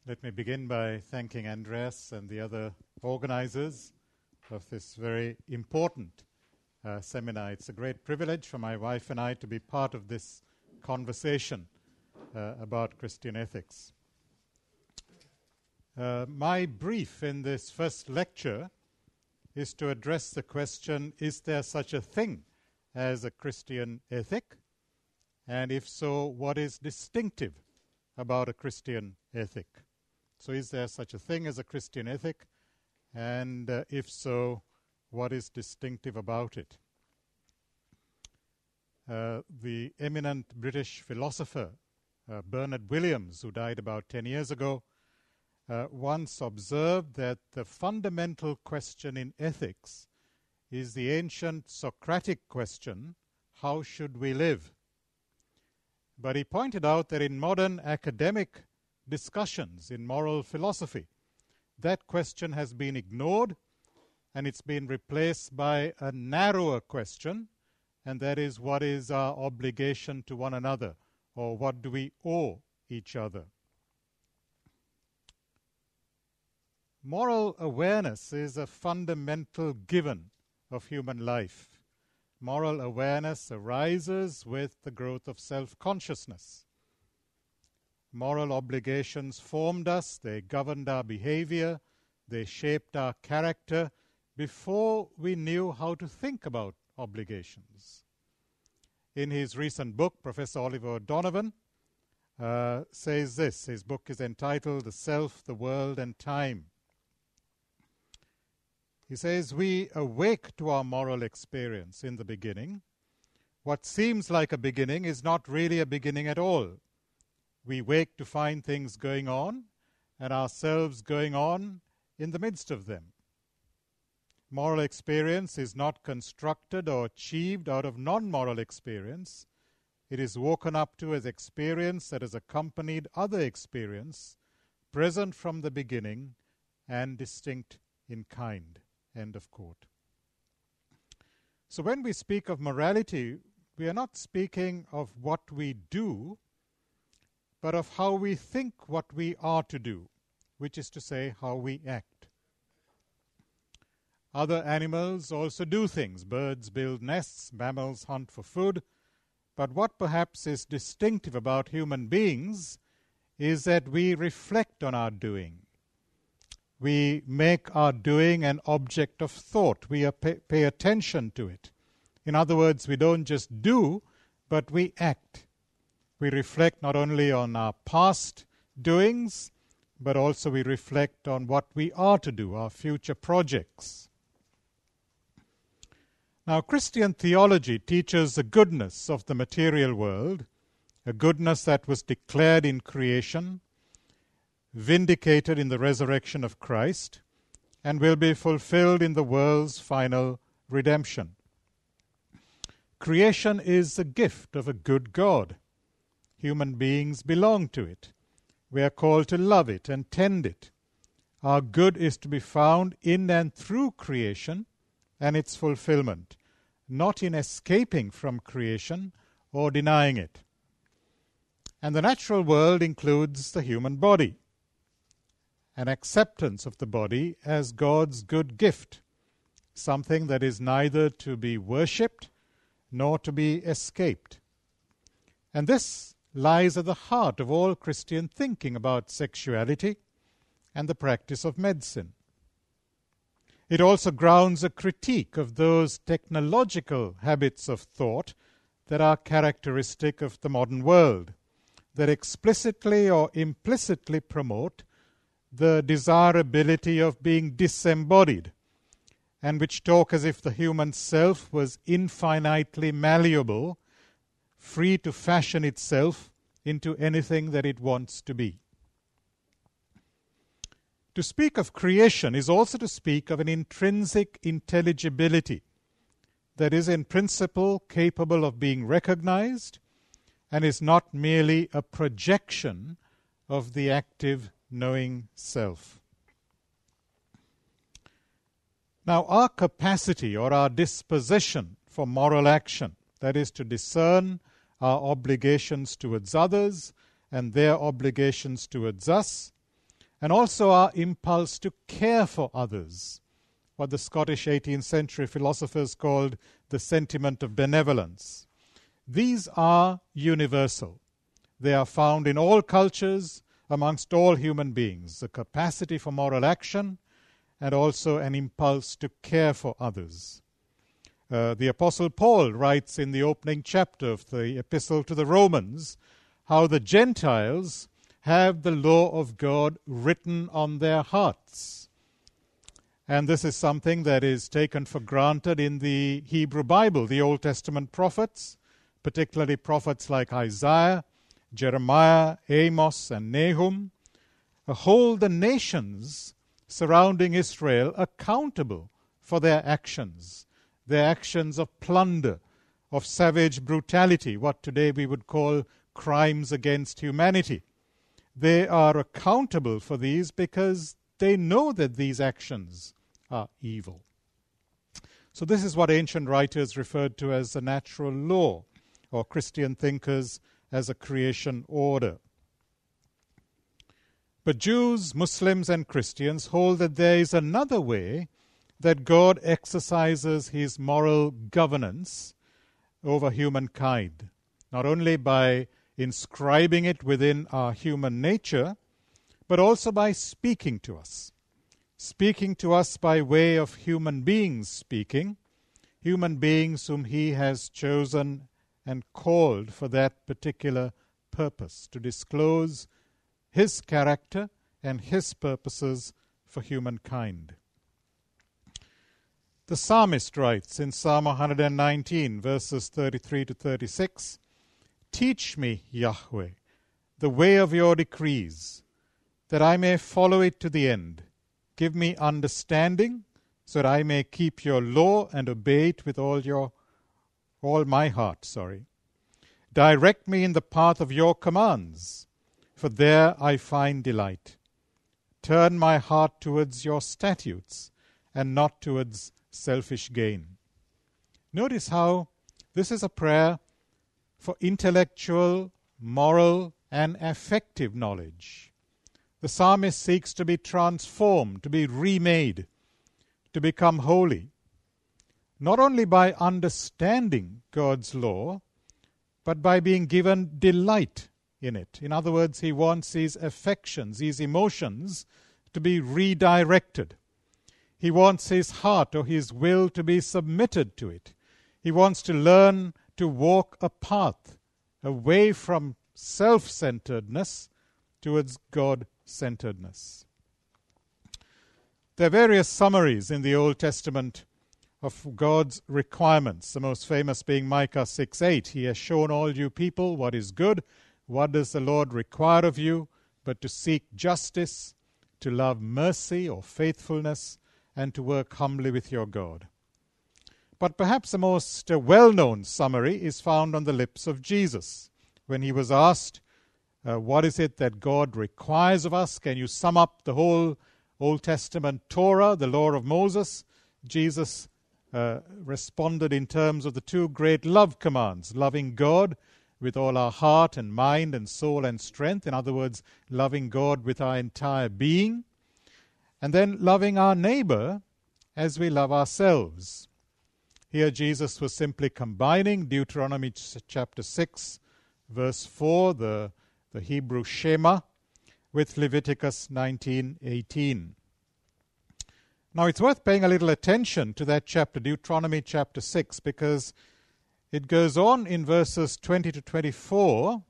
Let me begin by thanking Andreas and the other organizers of this very important seminar. It's a great privilege for my wife and I to be part of this conversation about Christian ethics. My brief in this first lecture is to address the question, is there such a thing as a Christian ethic? And if so, what is distinctive about a Christian ethic? So is there such a thing as a Christian ethic? And if so, what is distinctive about it? The eminent British philosopher Bernard Williams, who died about 10 years ago, once observed that the fundamental question in ethics is the ancient Socratic question, how should we live? But he pointed out that in modern academic discussions in moral philosophy, that question has been ignored and it's been replaced by a narrower question, and that is, what is our obligation to one another, or what do we owe each other? Moral awareness is a fundamental given of human life. Moral awareness arises with the growth of self-consciousness. Moral obligations formed us, they governed our behavior, they shaped our character before we knew how to think about obligations. In his recent book, Professor Oliver O'Donovan says this. His book is entitled The Self, the World, and Time. He says, we awake to our moral experience in the beginning. What seems like a beginning is not really a beginning at all. We wake to find things going on and ourselves going on in the midst of them. Moral experience is not constructed or achieved out of non-moral experience. It is woken up to as experience that has accompanied other experience, present from the beginning and distinct in kind. End of quote. So when we speak of morality, we are not speaking of what we do, but of how we think what we are to do, which is to say, how we act. Other animals also do things. Birds build nests, mammals hunt for food. But what perhaps is distinctive about human beings is that we reflect on our doing. We make our doing an object of thought. We pay attention to it. In other words, we don't just do, but we act. We reflect not only on our past doings, but also we reflect on what we are to do, our future projects. Now, Christian theology teaches the goodness of the material world, a goodness that was declared in creation, vindicated in the resurrection of Christ, and will be fulfilled in the world's final redemption. Creation is the gift of a good God. Human beings belong to it. We are called to love it and tend it. Our good is to be found in and through creation and its fulfillment, not in escaping from creation or denying it. And the natural world includes the human body, an acceptance of the body as God's good gift, something that is neither to be worshipped nor to be escaped. And this lies at the heart of all Christian thinking about sexuality and the practice of medicine. It also grounds a critique of those technological habits of thought that are characteristic of the modern world, that explicitly or implicitly promote the desirability of being disembodied, and which talk as if the human self was infinitely malleable, free to fashion itself into anything that it wants to be. To speak of creation is also to speak of an intrinsic intelligibility that is in principle capable of being recognized and is not merely a projection of the active knowing self. Now, our capacity or our disposition for moral action, that is to discern our obligations towards others and their obligations towards us, and also our impulse to care for others, what the Scottish 18th century philosophers called the sentiment of benevolence. These are universal. They are found in all cultures, amongst all human beings, the capacity for moral action and also an impulse to care for others. The Apostle Paul writes in the opening chapter of the Epistle to the Romans how the Gentiles have the law of God written on their hearts. And this is something that is taken for granted in the Hebrew Bible. The Old Testament prophets, particularly prophets like Isaiah, Jeremiah, Amos, and Nahum, hold the nations surrounding Israel accountable for their actions of plunder, of savage brutality, what today we would call crimes against humanity. They are accountable for these because they know that these actions are evil. So this is what ancient writers referred to as the natural law, or Christian thinkers as a creation order. But Jews, Muslims, and Christians hold that there is another way that God exercises his moral governance over humankind, not only by inscribing it within our human nature, but also by speaking to us by way of human beings speaking, human beings whom he has chosen and called for that particular purpose, to disclose his character and his purposes for humankind. The psalmist writes in Psalm 119, verses 33 to 36, "Teach me, Yahweh, the way of your decrees, that I may follow it to the end. Give me understanding, so that I may keep your law and obey it with all my heart. Direct me in the path of your commands, for there I find delight. Turn my heart towards your statutes, and not towards selfish gain." Notice how this is a prayer for intellectual, moral, and affective knowledge. The psalmist seeks to be transformed, to be remade, to become holy, not only by understanding God's law, but by being given delight in it. In other words, he wants his affections, his emotions, to be redirected. He wants his heart or his will to be submitted to it. He wants to learn to walk a path away from self-centeredness towards God-centeredness. There are various summaries in the Old Testament of God's requirements, the most famous being Micah 6:8. "He has shown all you people what is good. What does the Lord require of you but to seek justice, to love mercy or faithfulness, and to work humbly with your God?" But perhaps the most well-known summary is found on the lips of Jesus. When he was asked, what is it that God requires of us? Can you sum up the whole Old Testament Torah, the law of Moses? Jesus responded in terms of the two great love commands, loving God with all our heart and mind and soul and strength. In other words, loving God with our entire being. And then loving our neighbor as we love ourselves. Here Jesus was simply combining Deuteronomy chapter 6, verse 4, the Hebrew Shema, with Leviticus 19:18. Now it's worth paying a little attention to that chapter, Deuteronomy chapter 6, because it goes on in verses 20 to 24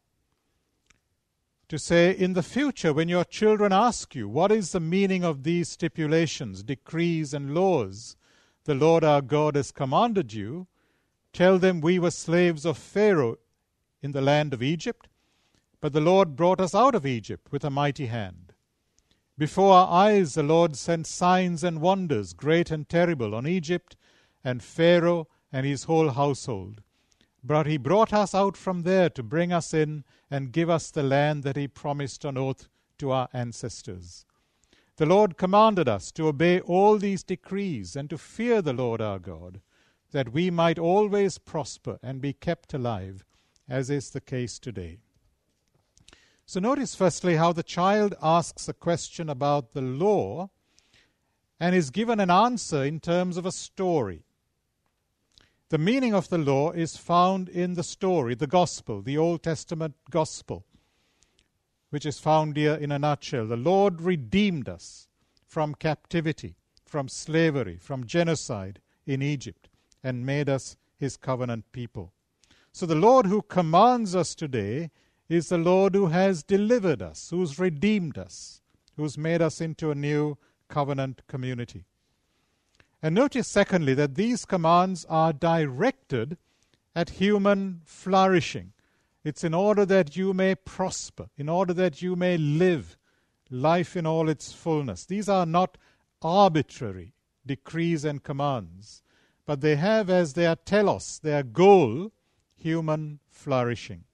to say, "In the future, when your children ask you, what is the meaning of these stipulations, decrees, and laws the Lord our God has commanded you, tell them we were slaves of Pharaoh in the land of Egypt, but the Lord brought us out of Egypt with a mighty hand. Before our eyes the Lord sent signs and wonders, great and terrible, on Egypt and Pharaoh and his whole household. But he brought us out from there to bring us in and give us the land that he promised on oath to our ancestors. The Lord commanded us to obey all these decrees and to fear the Lord our God, that we might always prosper and be kept alive, as is the case today." So notice firstly how the child asks a question about the law and is given an answer in terms of a story. The meaning of the law is found in the story, the gospel, the Old Testament gospel, which is found here in a nutshell. The Lord redeemed us from captivity, from slavery, from genocide in Egypt, and made us his covenant people. So the Lord who commands us today is the Lord who has delivered us, who's redeemed us, who's made us into a new covenant community. And notice, secondly, that these commands are directed at human flourishing. It's in order that you may prosper, in order that you may live life in all its fullness. These are not arbitrary decrees and commands, but they have as their telos, their goal, human flourishing.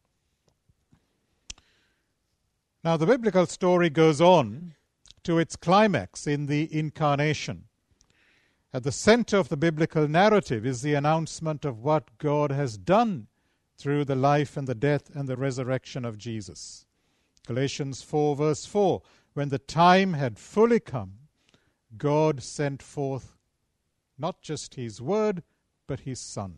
Now, the biblical story goes on to its climax in the incarnation. At the center of the biblical narrative is the announcement of what God has done through the life and the death and the resurrection of Jesus. Galatians 4 verse 4, when the time had fully come, God sent forth not just his word, but his Son.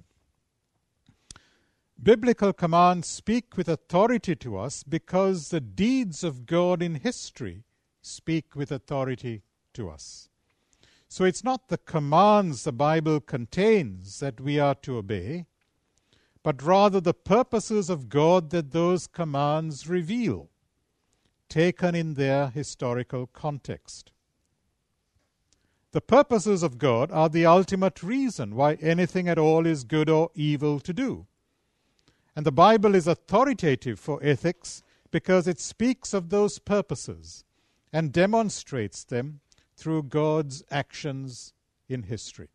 Biblical commands speak with authority to us because the deeds of God in history speak with authority to us. So it's not the commands the Bible contains that we are to obey, but rather the purposes of God that those commands reveal, taken in their historical context. The purposes of God are the ultimate reason why anything at all is good or evil to do. And the Bible is authoritative for ethics because it speaks of those purposes and demonstrates them through God's actions in history.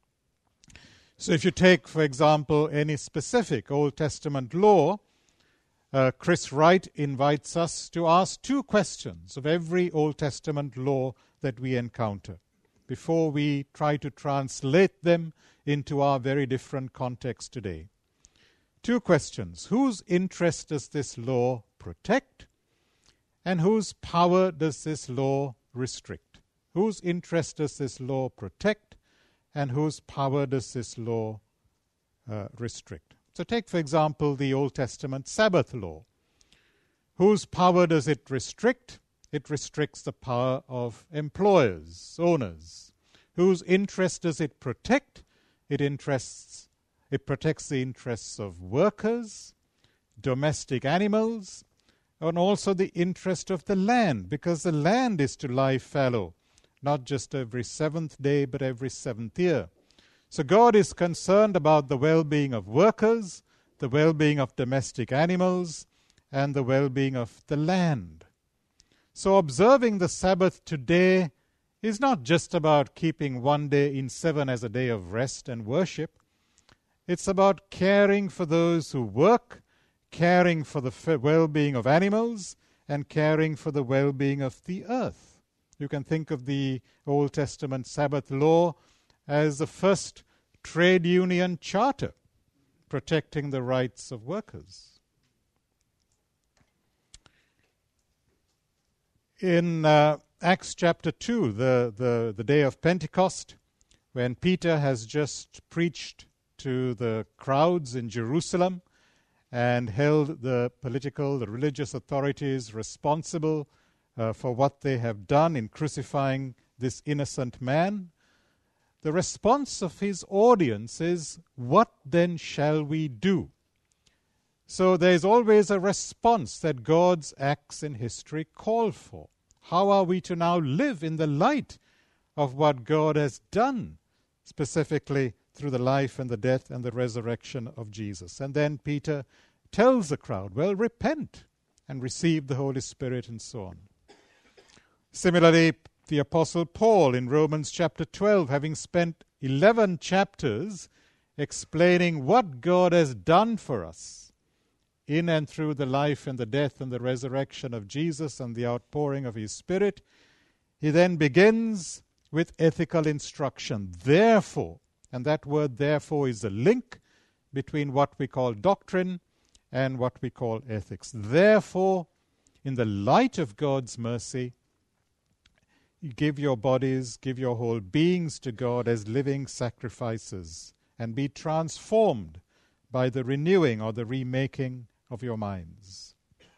So if you take, for example, any specific Old Testament law, Chris Wright invites us to ask two questions of every Old Testament law that we encounter before we try to translate them into our very different context today. Two questions. Whose interest does this law protect? And whose power does this law restrict? Whose interest does this law protect? And whose power does this law restrict? So take, for example, the Old Testament Sabbath law. Whose power does it restrict? It restricts the power of employers, owners. Whose interest does it protect? It protects the interests of workers, domestic animals, and also the interest of the land, because the land is to lie fallow, not just every seventh day, but every seventh year. So God is concerned about the well-being of workers, the well-being of domestic animals, and the well-being of the land. So observing the Sabbath today is not just about keeping one day in 7 as a day of rest and worship. It's about caring for those who work, caring for the well-being of animals, and caring for the well-being of the earth. You can think of the Old Testament Sabbath law as the first trade union charter protecting the rights of workers. In Acts chapter 2, the day of Pentecost, when Peter has just preached to the crowds in Jerusalem and held the political, the religious authorities responsible for what they have done in crucifying this innocent man, the response of his audience is, "What then shall we do?" So there is always a response that God's acts in history call for. How are we to now live in the light of what God has done, specifically through the life and the death and the resurrection of Jesus? And then Peter tells the crowd, well, repent and receive the Holy Spirit and so on. Similarly, the Apostle Paul in Romans chapter 12, having spent 11 chapters explaining what God has done for us in and through the life and the death and the resurrection of Jesus and the outpouring of his Spirit, he then begins with ethical instruction. Therefore, and that word therefore is the link between what we call doctrine and what we call ethics. Therefore, in the light of God's mercy, you give your bodies, give your whole beings to God as living sacrifices, and be transformed by the renewing or the remaking of your minds.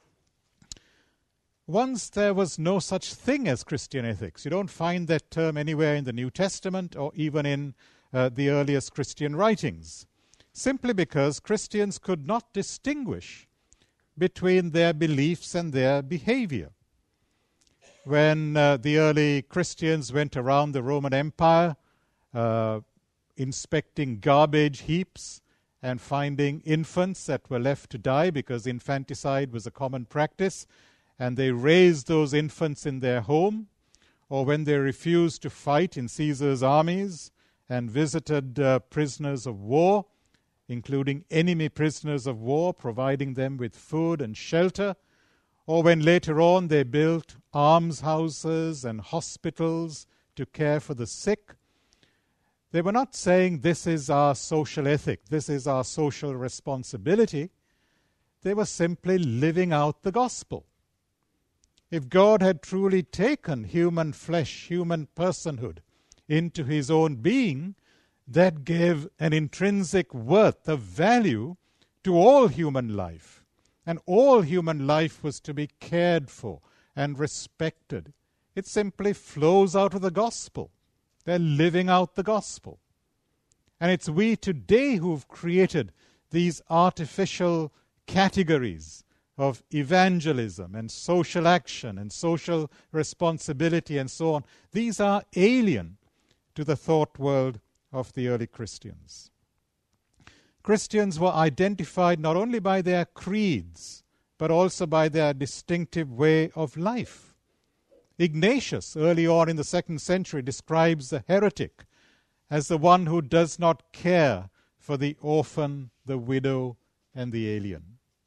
Once there was no such thing as Christian ethics. You don't find that term anywhere in the New Testament or even in the earliest Christian writings, simply because Christians could not distinguish between their beliefs and their behavior. When the early Christians went around the Roman Empire, inspecting garbage heaps and finding infants that were left to die because infanticide was a common practice, and they raised those infants in their home, or when they refused to fight in Caesar's armies and visited prisoners of war, including enemy prisoners of war, providing them with food and shelter, or when later on they built almshouses and hospitals to care for the sick, they were not saying this is our social ethic, this is our social responsibility. They were simply living out the gospel. If God had truly taken human flesh, human personhood, into his own being, that gave an intrinsic worth of value to all human life. And all human life was to be cared for and respected. It simply flows out of the gospel. They're living out the gospel. And it's we today who've created these artificial categories of evangelism and social action and social responsibility and so on. These are alien to the thought world of the early Christians. Christians were identified not only by their creeds, but also by their distinctive way of life. Ignatius, early on in the 2nd century, describes the heretic as the one who does not care for the orphan, the widow, and the alien.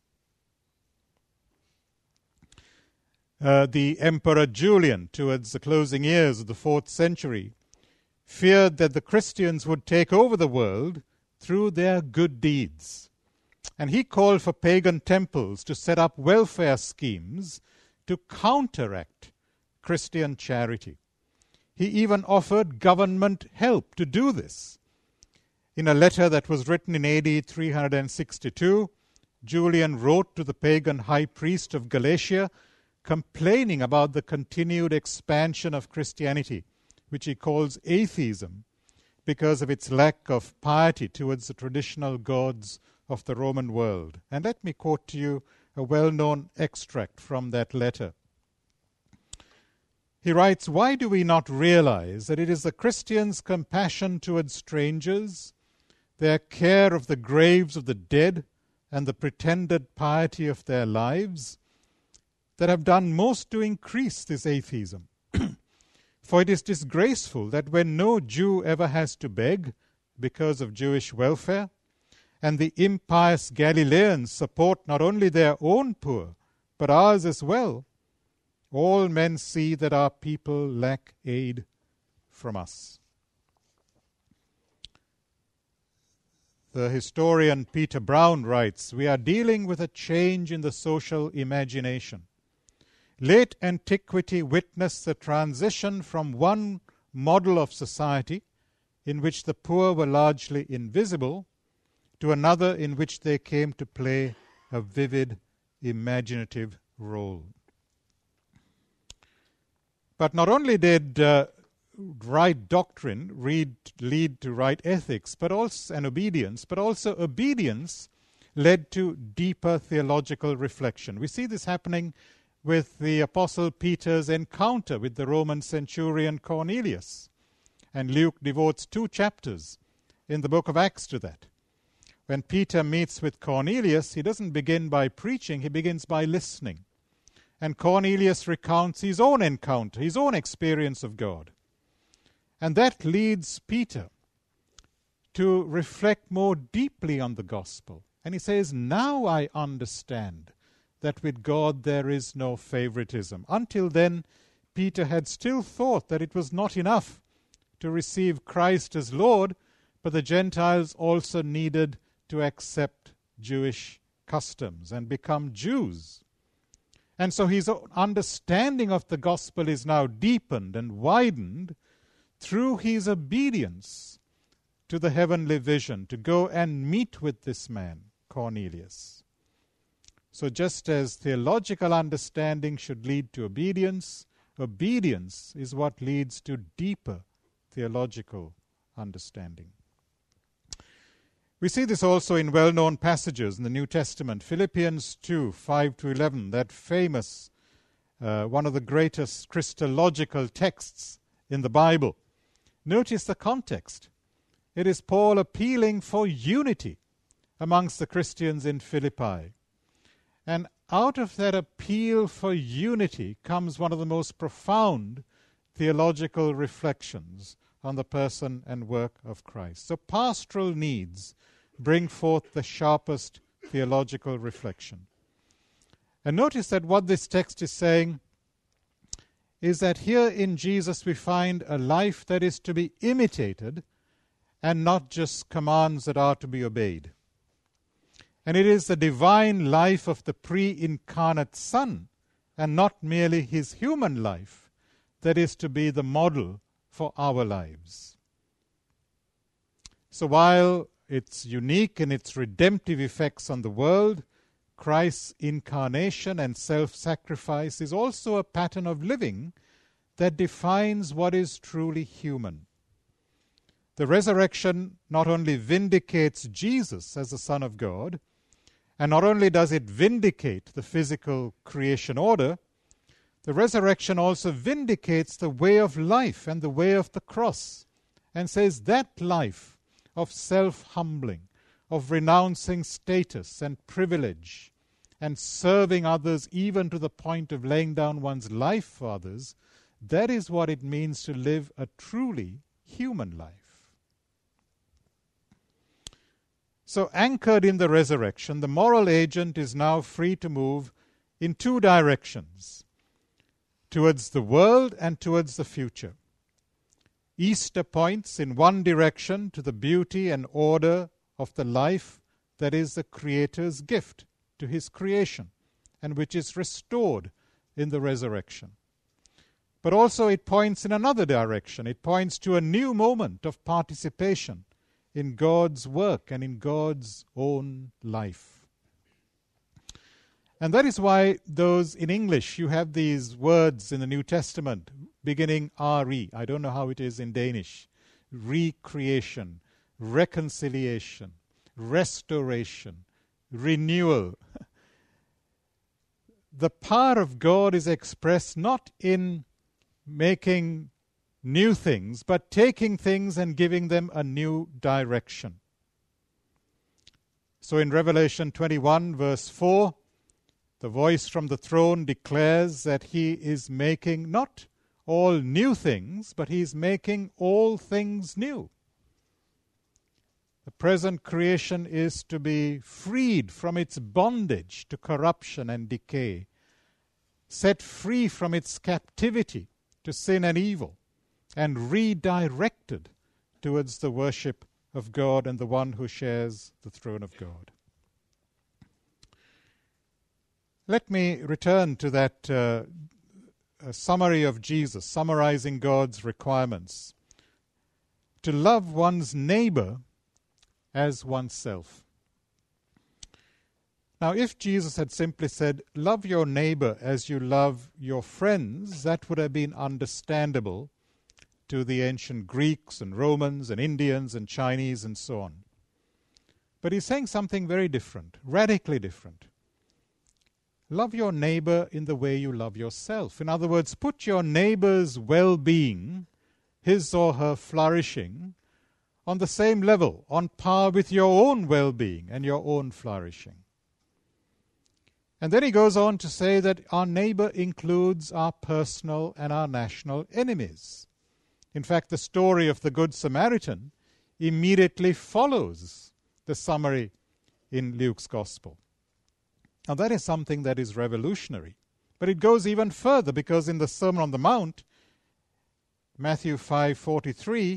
The Emperor Julian, towards the closing years of the 4th century, feared that the Christians would take over the world through their good deeds. And he called for pagan temples to set up welfare schemes to counteract Christian charity. He even offered government help to do this. In a letter that was written in AD 362, Julian wrote to the pagan high priest of Galatia, complaining about the continued expansion of Christianity, which he calls atheism, because of its lack of piety towards the traditional gods of the Roman world. And let me quote to you a well-known extract from that letter. He writes, "Why do we not realize that it is the Christians' compassion towards strangers, their care of the graves of the dead, and the pretended piety of their lives that have done most to increase this atheism? For it is disgraceful that when no Jew ever has to beg because of Jewish welfare, and the impious Galileans support not only their own poor, but ours as well, all men see that our people lack aid from us." The historian Peter Brown writes, "We are dealing with a change in the social imagination. Late antiquity witnessed the transition from one model of society in which the poor were largely invisible to another in which they came to play a vivid, imaginative role." But not only did right doctrine lead to right ethics, but also and obedience, but also obedience led to deeper theological reflection. We see this happening with the Apostle Peter's encounter with the Roman centurion Cornelius. And Luke devotes 2 chapters in the book of Acts to that. When Peter meets with Cornelius, he doesn't begin by preaching, he begins by listening. And Cornelius recounts his own encounter, his own experience of God. And that leads Peter to reflect more deeply on the gospel. And he says, "Now I understand that with God there is no favoritism." Until then, Peter had still thought that it was not enough to receive Christ as Lord, but the Gentiles also needed to accept Jewish customs and become Jews. And so his understanding of the gospel is now deepened and widened through his obedience to the heavenly vision to go and meet with this man, Cornelius. So just as theological understanding should lead to obedience, obedience is what leads to deeper theological understanding. We see this also in well-known passages in the New Testament. Philippians 2, 5-11, that famous, one of the greatest Christological texts in the Bible. Notice the context. It is Paul appealing for unity amongst the Christians in Philippi. And out of that appeal for unity comes one of the most profound theological reflections on the person and work of Christ. So pastoral needs bring forth the sharpest theological reflection. And notice that what this text is saying is that here in Jesus we find a life that is to be imitated and not just commands that are to be obeyed. And it is the divine life of the pre-incarnate Son and not merely his human life that is to be the model for our lives. So while it's unique in its redemptive effects on the world, Christ's incarnation and self-sacrifice is also a pattern of living that defines what is truly human. The resurrection not only vindicates Jesus as the Son of God, and not only does it vindicate the physical creation order, the resurrection also vindicates the way of life and the way of the cross, and says that life of self-humbling, of renouncing status and privilege, and serving others even to the point of laying down one's life for others, that is what it means to live a truly human life. So anchored in the resurrection, the moral agent is now free to move in two directions, towards the world and towards the future. Easter points in one direction to the beauty and order of the life that is the Creator's gift to his creation and which is restored in the resurrection. But also it points in another direction. It points to a new moment of participation in God's work and in God's own life. And that is why in English you have these words in the New Testament beginning RE. I don't know how it is in Danish. Recreation, reconciliation, restoration, renewal. The power of God is expressed not in making new things, but taking things and giving them a new direction. So in Revelation 21, verse 4, the voice from the throne declares that he is making not all new things, but he is making all things new. The present creation is to be freed from its bondage to corruption and decay, set free from its captivity to sin and evil, and redirected towards the worship of God and the one who shares the throne of God. Let me return to that summary of Jesus, summarizing God's requirements. To love one's neighbor as oneself. Now, if Jesus had simply said, love your neighbor as you love your friends, that would have been understandable to the ancient Greeks and Romans and Indians and Chinese and so on. But he's saying something very different, radically different. Love your neighbor in the way you love yourself. In other words, put your neighbor's well-being, his or her flourishing, on the same level, on par with your own well-being and your own flourishing. And then he goes on to say that our neighbor includes our personal and our national enemies. In fact, the story of the Good Samaritan immediately follows the summary in Luke's Gospel. Now that is something that is revolutionary. But it goes even further, because in the Sermon on the Mount, Matthew 5:43,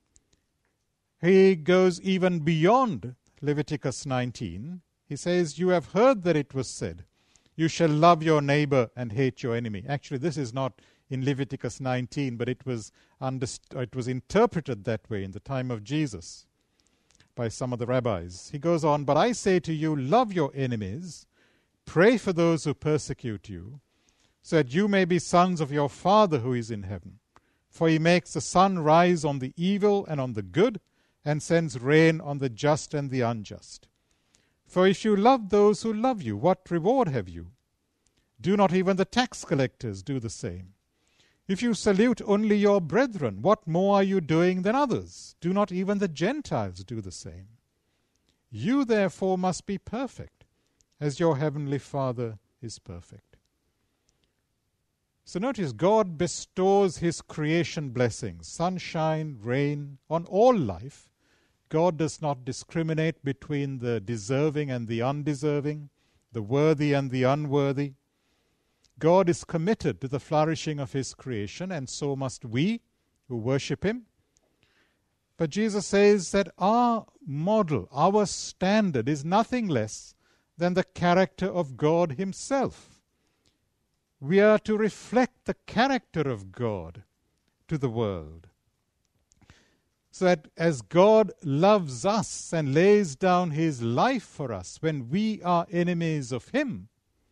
he goes even beyond Leviticus 19. He says, you have heard that it was said, You shall love your neighbor and hate your enemy. Actually, this is not in Leviticus 19, but it was interpreted that way in the time of Jesus by some of the rabbis. He goes on, but I say to you, love your enemies, pray for those who persecute you, so that you may be sons of your Father who is in heaven. For he makes the sun rise on the evil and on the good, and sends rain on the just and the unjust. For if you love those who love you, what reward have you? Do not even the tax collectors do the same? If you salute only your brethren, what more are you doing than others? Do not even the Gentiles do the same? You therefore must be perfect, as your heavenly Father is perfect. So notice, God bestows his creation blessings, sunshine, rain, on all life. God does not discriminate between the deserving and the undeserving, the worthy and the unworthy. God is committed to the flourishing of his creation, and so must we who worship him. But Jesus says that our model, our standard, is nothing less than the character of God himself. We are to reflect the character of God to the world. So that as God loves us and lays down his life for us when we are enemies of him,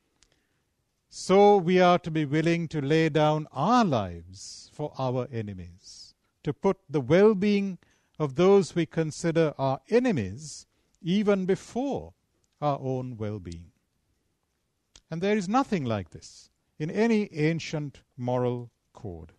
so we are to be willing to lay down our lives for our enemies, to put the well-being of those we consider our enemies even before our own well-being. And there is nothing like this in any ancient moral code.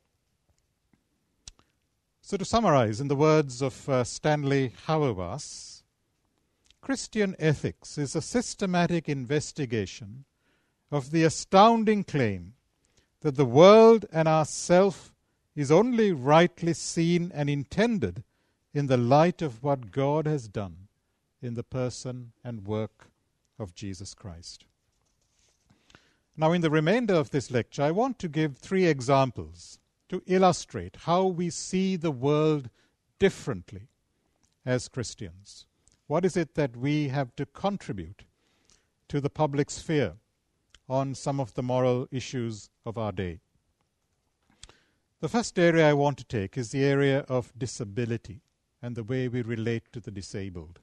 So to summarize, in the words of Stanley Hauerwas, Christian ethics is a systematic investigation of the astounding claim that the world and ourself is only rightly seen and intended in the light of what God has done in the person and work of Jesus Christ. Now, in the remainder of this lecture, I want to give 3 examples to illustrate how we see the world differently as Christians. What is it that we have to contribute to the public sphere on some of the moral issues of our day? The first area I want to take is the area of disability and the way we relate to the disabled.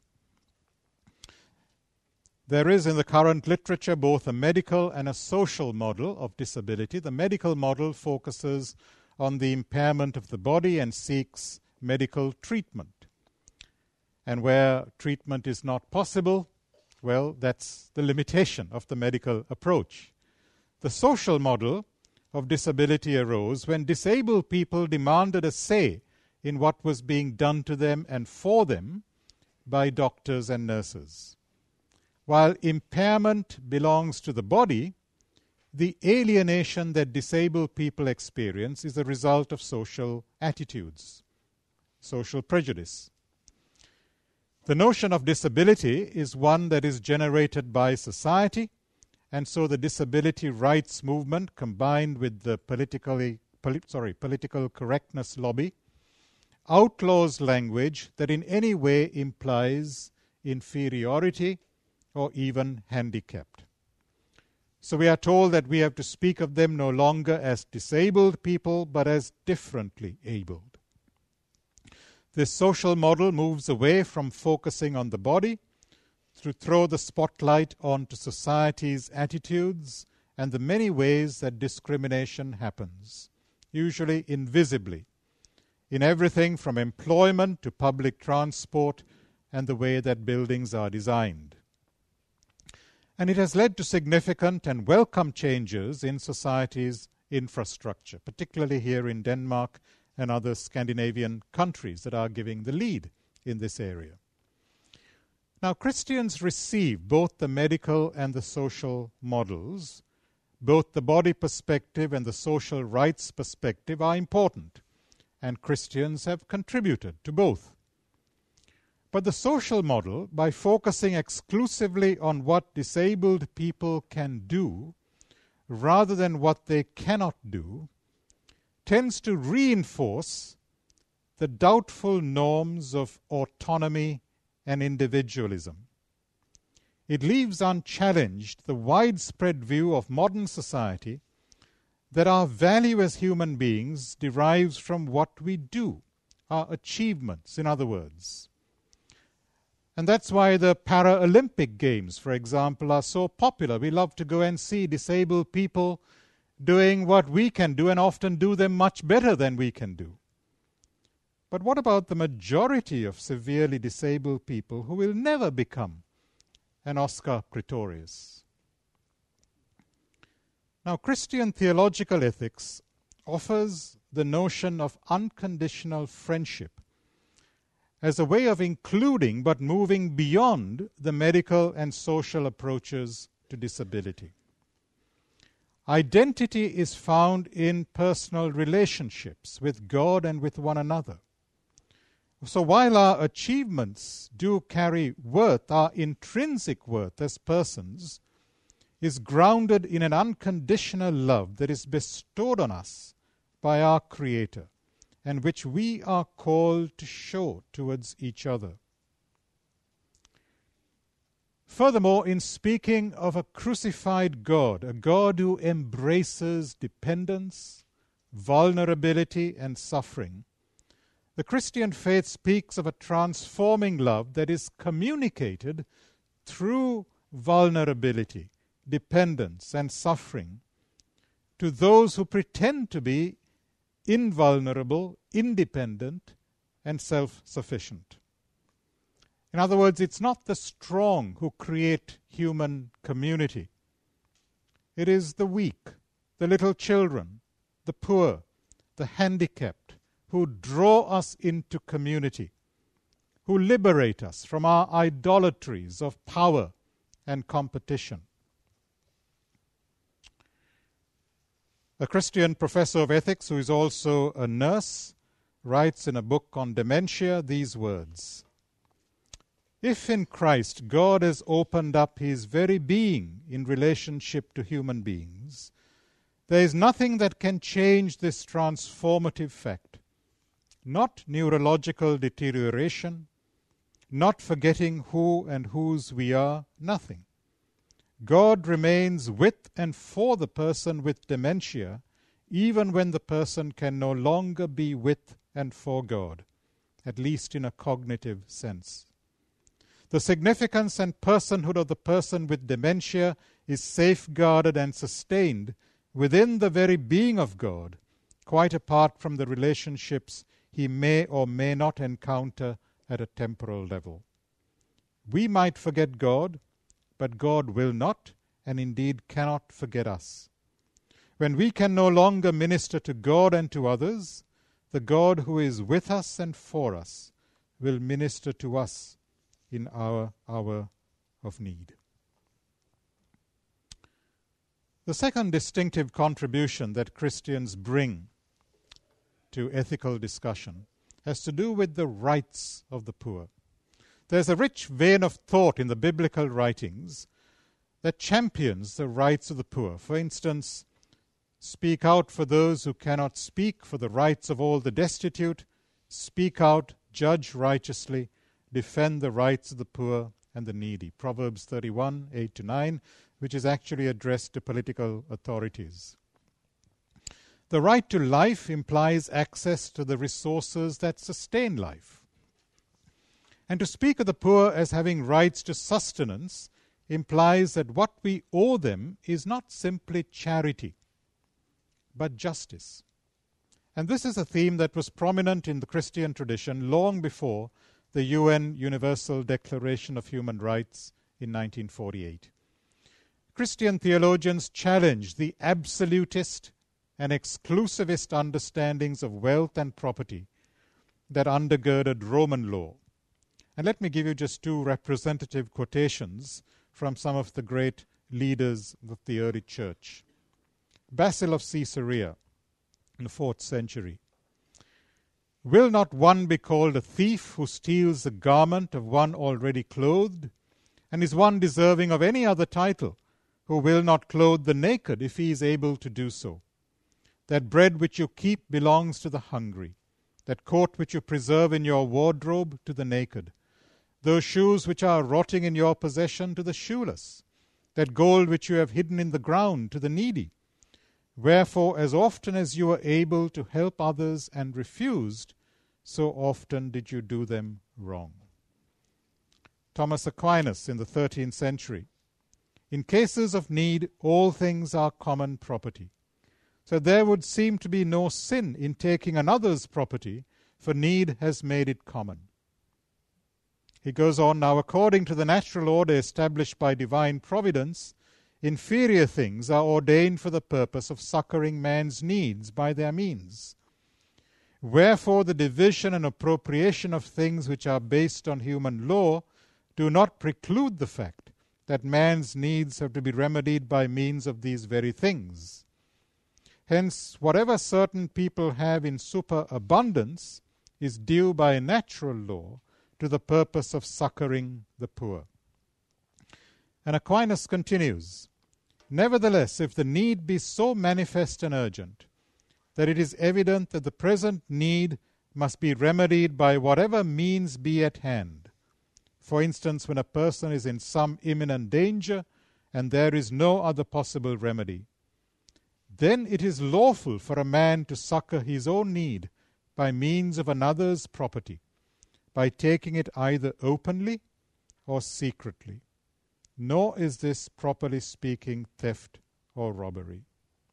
There is in the current literature both a medical and a social model of disability. The medical model focuses on the impairment of the body and seeks medical treatment. And where treatment is not possible, well, that's the limitation of the medical approach. The social model of disability arose when disabled people demanded a say in what was being done to them and for them by doctors and nurses. While impairment belongs to the body, the alienation that disabled people experience is a result of social attitudes, social prejudice. The notion of disability is one that is generated by society, and so the disability rights movement, combined with the political correctness lobby, outlaws language that in any way implies inferiority or even handicapped. So we are told that we have to speak of them no longer as disabled people, but as differently abled. This social model moves away from focusing on the body to throw the spotlight onto society's attitudes and the many ways that discrimination happens, usually invisibly, in everything from employment to public transport and the way that buildings are designed. And it has led to significant and welcome changes in society's infrastructure, particularly here in Denmark and other Scandinavian countries that are giving the lead in this area. Now, Christians receive both the medical and the social models. Both the body perspective and the social rights perspective are important, and Christians have contributed to both. But the social model, by focusing exclusively on what disabled people can do, rather than what they cannot do, tends to reinforce the doubtful norms of autonomy and individualism. it leaves unchallenged the widespread view of modern society that our value as human beings derives from what we do, our achievements, in other words. And that's why the Paralympic Games, for example, are so popular. We love to go and see disabled people doing what we can do, and often do them much better than we can do. But what about the majority of severely disabled people who will never become an Oscar Pretorius? Now, Christian theological ethics offers the notion of unconditional friendship as a way of including but moving beyond the medical and social approaches to disability. Identity is found in personal relationships with God and with one another. So while our achievements do carry worth, our intrinsic worth as persons is grounded in an unconditional love that is bestowed on us by our Creator, and which we are called to show towards each other. Furthermore, in speaking of a crucified God, a God who embraces dependence, vulnerability, and suffering, the Christian faith speaks of a transforming love that is communicated through vulnerability, dependence, and suffering to those who pretend to be invulnerable, independent, and self-sufficient. In other words, it's not the strong who create human community. It is the weak, the little children, the poor, the handicapped, who draw us into community, who liberate us from our idolatries of power and competition. A Christian professor of ethics, who is also a nurse, writes in a book on dementia these words: "If in Christ God has opened up his very being in relationship to human beings, there is nothing that can change this transformative fact. Not neurological deterioration, not forgetting who and whose we are, nothing. God remains with and for the person with dementia, even when the person can no longer be with and for God, at least in a cognitive sense. The significance and personhood of the person with dementia is safeguarded and sustained within the very being of God, quite apart from the relationships he may or may not encounter at a temporal level. We might forget God, but God will not, and indeed cannot forget us. When we can no longer minister to God and to others, the God who is with us and for us will minister to us in our hour of need." The second distinctive contribution that Christians bring to ethical discussion has to do with the rights of the poor. There's a rich vein of thought in the biblical writings that champions the rights of the poor. For instance, speak out for those who cannot speak, for the rights of all the destitute, speak out, judge righteously, defend the rights of the poor and the needy. Proverbs 31, 8-9, which is actually addressed to political authorities. The right to life implies access to the resources that sustain life. And to speak of the poor as having rights to sustenance implies that what we owe them is not simply charity, but justice. And this is a theme that was prominent in the Christian tradition long before the UN Universal Declaration of Human Rights in 1948. Christian theologians challenged the absolutist and exclusivist understandings of wealth and property that undergirded Roman law. And let me give you just two representative quotations from some of the great leaders of the early church. Basil of Caesarea in the 4th century. "Will not one be called a thief who steals the garment of one already clothed? And is one deserving of any other title who will not clothe the naked if he is able to do so? That bread which you keep belongs to the hungry, that coat which you preserve in your wardrobe to the naked. those shoes which are rotting in your possession to the shoeless, that gold which you have hidden in the ground to the needy. Wherefore, as often as you were able to help others and refused, so often did you do them wrong. Thomas Aquinas in the 13th century. In cases of need, all things are common property. So there would seem to be no sin in taking another's property, for need has made it common. He goes on, now according to the natural order established by divine providence, inferior things are ordained for the purpose of succoring man's needs by their means. Wherefore the division and appropriation of things which are based on human law do not preclude the fact that man's needs have to be remedied by means of these very things. Hence, whatever certain people have in superabundance is due by natural law to the purpose of succoring the poor. And Aquinas continues, nevertheless, if the need be so manifest and urgent that it is evident that the present need must be remedied by whatever means be at hand, for instance, when a person is in some imminent danger and there is no other possible remedy, then it is lawful for a man to succor his own need by means of another's property, by taking it either openly or secretly. Nor is this, properly speaking, theft or robbery.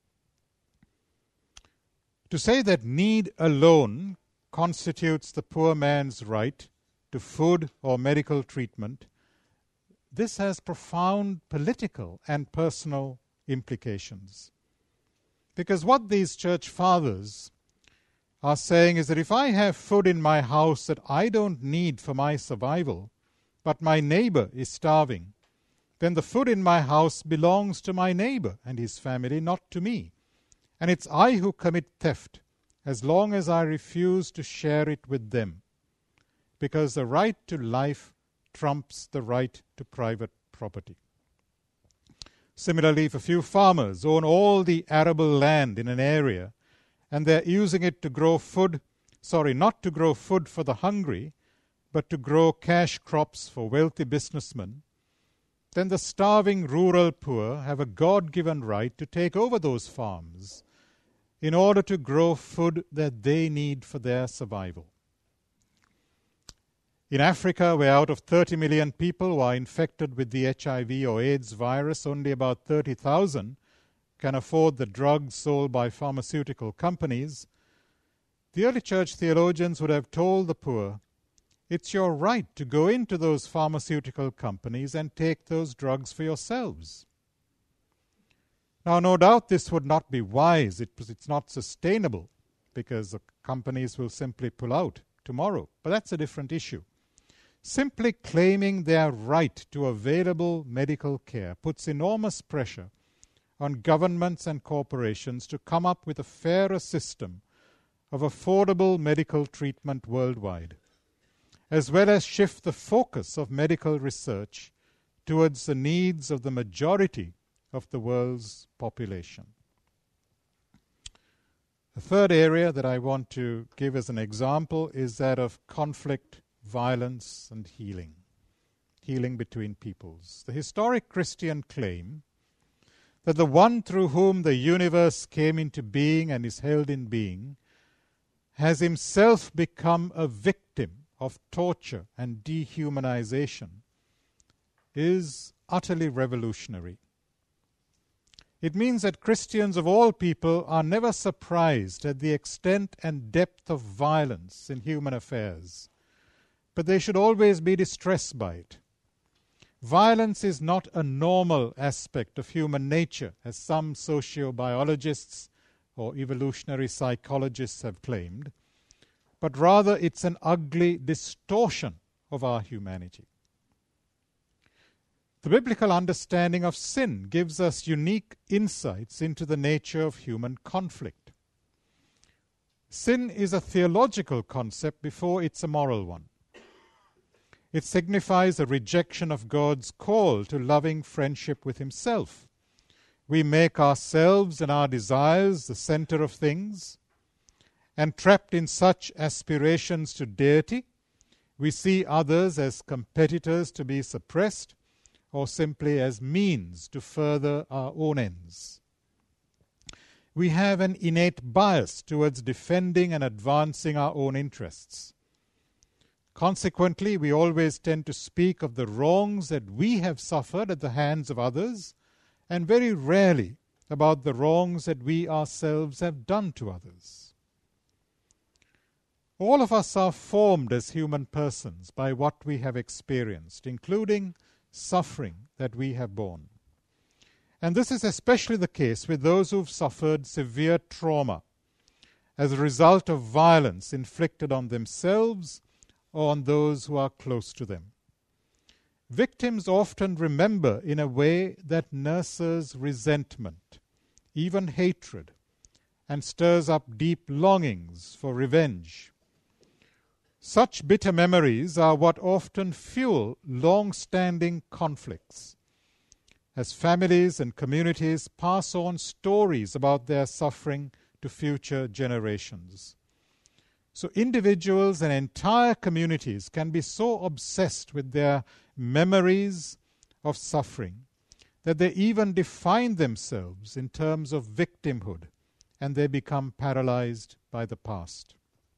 To say that need alone constitutes the poor man's right to food or medical treatment, this has profound political and personal implications. Because what these church fathers are saying is that if I have food in my house that I don't need for my survival, but my neighbor is starving, then the food in my house belongs to my neighbor and his family, not to me. And it's I who commit theft, as long as I refuse to share it with them, because the right to life trumps the right to private property. Similarly, if a few farmers own all the arable land in an area, and they're using it to grow food, not to grow food for the hungry, but to grow cash crops for wealthy businessmen, then the starving rural poor have a God-given right to take over those farms in order to grow food that they need for their survival. In Africa, where out of 30 million people who are infected with the HIV or AIDS virus, only about 30,000 can afford the drugs sold by pharmaceutical companies, the early church theologians would have told the poor, it's your right to go into those pharmaceutical companies and take those drugs for yourselves. Now, no doubt this would not be wise. It's not sustainable because the companies will simply pull out tomorrow. But that's a different issue. Simply claiming their right to available medical care puts enormous pressure on governments and corporations to come up with a fairer system of affordable medical treatment worldwide, as well as shift the focus of medical research towards the needs of the majority of the world's population. The third area that I want to give as an example is that of conflict, violence, and healing between peoples. The historic Christian claim that the one through whom the universe came into being and is held in being has himself become a victim of torture and dehumanization is utterly revolutionary. It means that Christians of all people are never surprised at the extent and depth of violence in human affairs, but they should always be distressed by it. Violence is not a normal aspect of human nature, as some sociobiologists or evolutionary psychologists have claimed, but rather it's an ugly distortion of our humanity. The biblical understanding of sin gives us unique insights into the nature of human conflict. Sin is a theological concept before it's a moral one. It signifies a rejection of God's call to loving friendship with Himself. We make ourselves and our desires the center of things, and trapped in such aspirations to deity, We see others as competitors to be suppressed or simply as means to further our own ends. We have an innate bias towards defending and advancing our own interests. Consequently, we always tend to speak of the wrongs that we have suffered at the hands of others, and very rarely about the wrongs that we ourselves have done to others. All of us are formed as human persons by what we have experienced, including suffering that we have borne. And this is especially the case with those who've suffered severe trauma as a result of violence inflicted on themselves or on those who are close to them. Victims often remember in a way that nurses resentment, even hatred, and stirs up deep longings for revenge. Such bitter memories are what often fuel long-standing conflicts, as families and communities pass on stories about their suffering to future generations. So individuals and entire communities can be so obsessed with their memories of suffering that they even define themselves in terms of victimhood, and they become paralyzed by the past.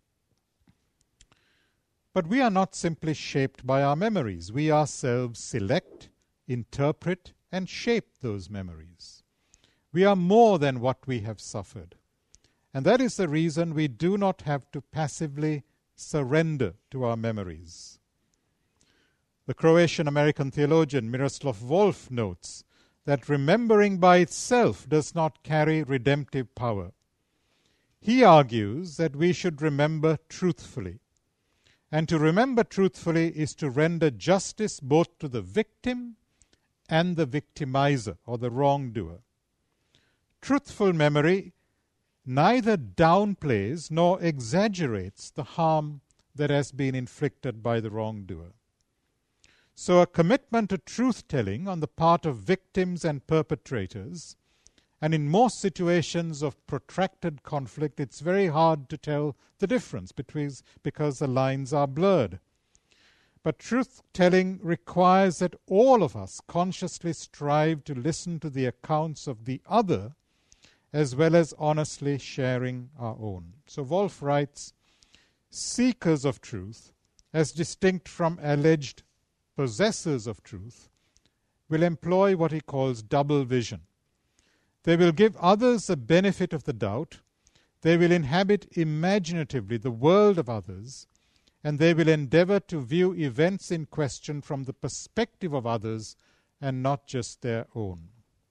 But we are not simply shaped by our memories. We ourselves select, interpret, and shape those memories. We are more than what we have suffered. And that is the reason we do not have to passively surrender to our memories. The Croatian-American theologian Miroslav Volf notes that remembering by itself does not carry redemptive power. He argues that we should remember truthfully. And to remember truthfully is to render justice both to the victim and the victimizer or the wrongdoer. Truthful memory neither downplays nor exaggerates the harm that has been inflicted by the wrongdoer. So a commitment to truth-telling on the part of victims and perpetrators, and in most situations of protracted conflict, it's very hard to tell the difference because the lines are blurred. But truth-telling requires that all of us consciously strive to listen to the accounts of the other as well as honestly sharing our own. So Wolf writes, seekers of truth, as distinct from alleged possessors of truth, will employ what he calls double vision. They will give others the benefit of the doubt, they will inhabit imaginatively the world of others, and they will endeavor to view events in question from the perspective of others and not just their own.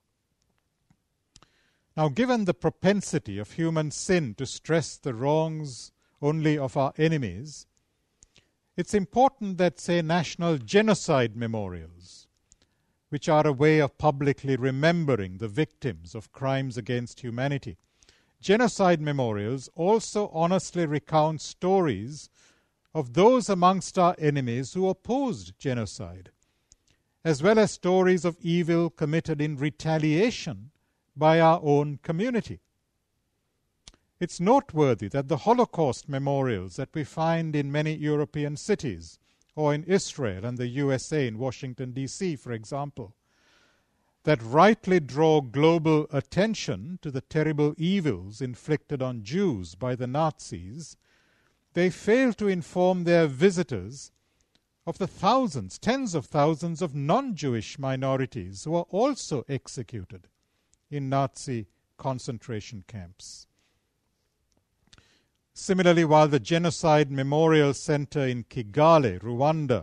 Now, given the propensity of human sin to stress the wrongs only of our enemies, it's important that, say, national genocide memorials, which are a way of publicly remembering the victims of crimes against humanity, genocide memorials also honestly recount stories of those amongst our enemies who opposed genocide, as well as stories of evil committed in retaliation by our own community. It's noteworthy that the Holocaust memorials that we find in many European cities, or in Israel and the USA, in Washington, D.C., for example, that rightly draw global attention to the terrible evils inflicted on Jews by the Nazis, they fail to inform their visitors of the thousands, tens of thousands of non-Jewish minorities who are also executed in Nazi concentration camps. Similarly, while the Genocide Memorial Center in Kigali, Rwanda,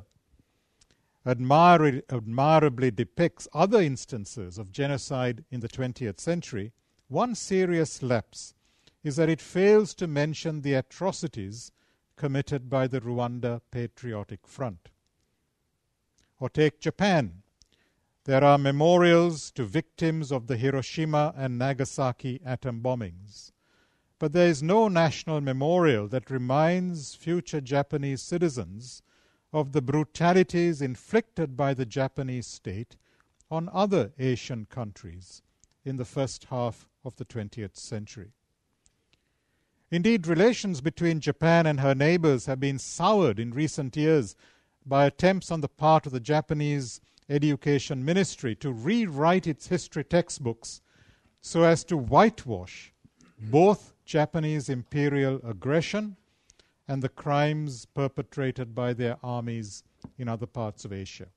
admirably depicts other instances of genocide in the 20th century, one serious lapse is that it fails to mention the atrocities committed by the Rwanda Patriotic Front. Or take Japan. There are memorials to victims of the Hiroshima and Nagasaki atom bombings. But there is no national memorial that reminds future Japanese citizens of the brutalities inflicted by the Japanese state on other Asian countries in the first half of the 20th century. Indeed, relations between Japan and her neighbors have been soured in recent years by attempts on the part of the Japanese Education Ministry to rewrite its history textbooks so as to whitewash both Japanese imperial aggression and the crimes perpetrated by their armies in other parts of Asia.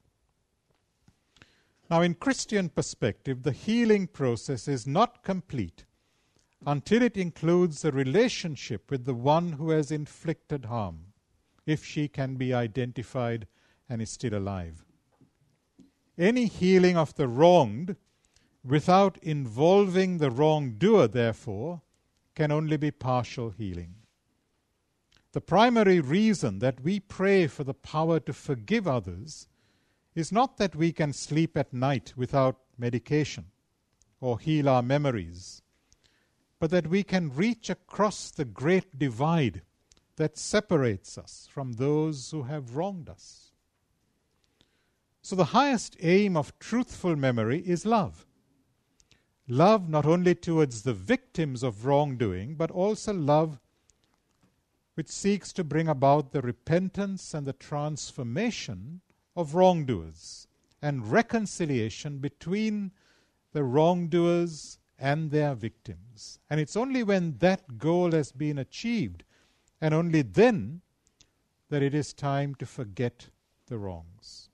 Now, in Christian perspective, the healing process is not complete until it includes a relationship with the one who has inflicted harm, if she can be identified and is still alive. Any healing of the wronged without involving the wrongdoer, therefore, can only be partial healing. The primary reason that we pray for the power to forgive others is not that we can sleep at night without medication or heal our memories, but that we can reach across the great divide that separates us from those who have wronged us. So the highest aim of truthful memory is love. Love not only towards the victims of wrongdoing, but also love which seeks to bring about the repentance and the transformation of wrongdoers and reconciliation between the wrongdoers and their victims. And it's only when that goal has been achieved, and only then, that it is time to forget the wrongs.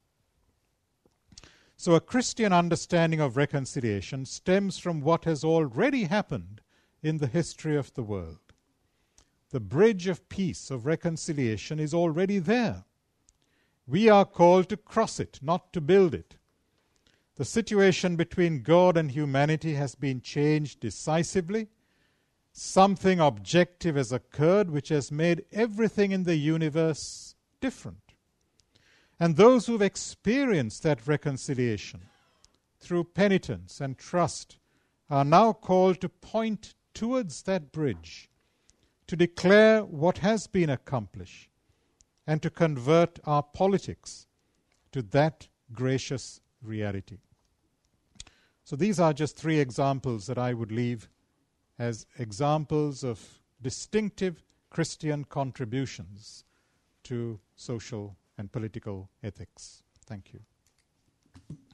So a Christian understanding of reconciliation stems from what has already happened in the history of the world. The bridge of peace, of reconciliation, is already there. We are called to cross it, not to build it. The situation between God and humanity has been changed decisively. Something objective has occurred which has made everything in the universe different. And those who've experienced that reconciliation through penitence and trust are now called to point towards that bridge, to declare what has been accomplished, and to convert our politics to that gracious reality. So these are just 3 examples that I would leave as examples of distinctive Christian contributions to social and political ethics. Thank you.